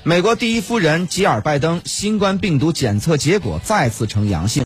美国第一夫人吉尔拜登新冠病毒检测结果再次呈阳性。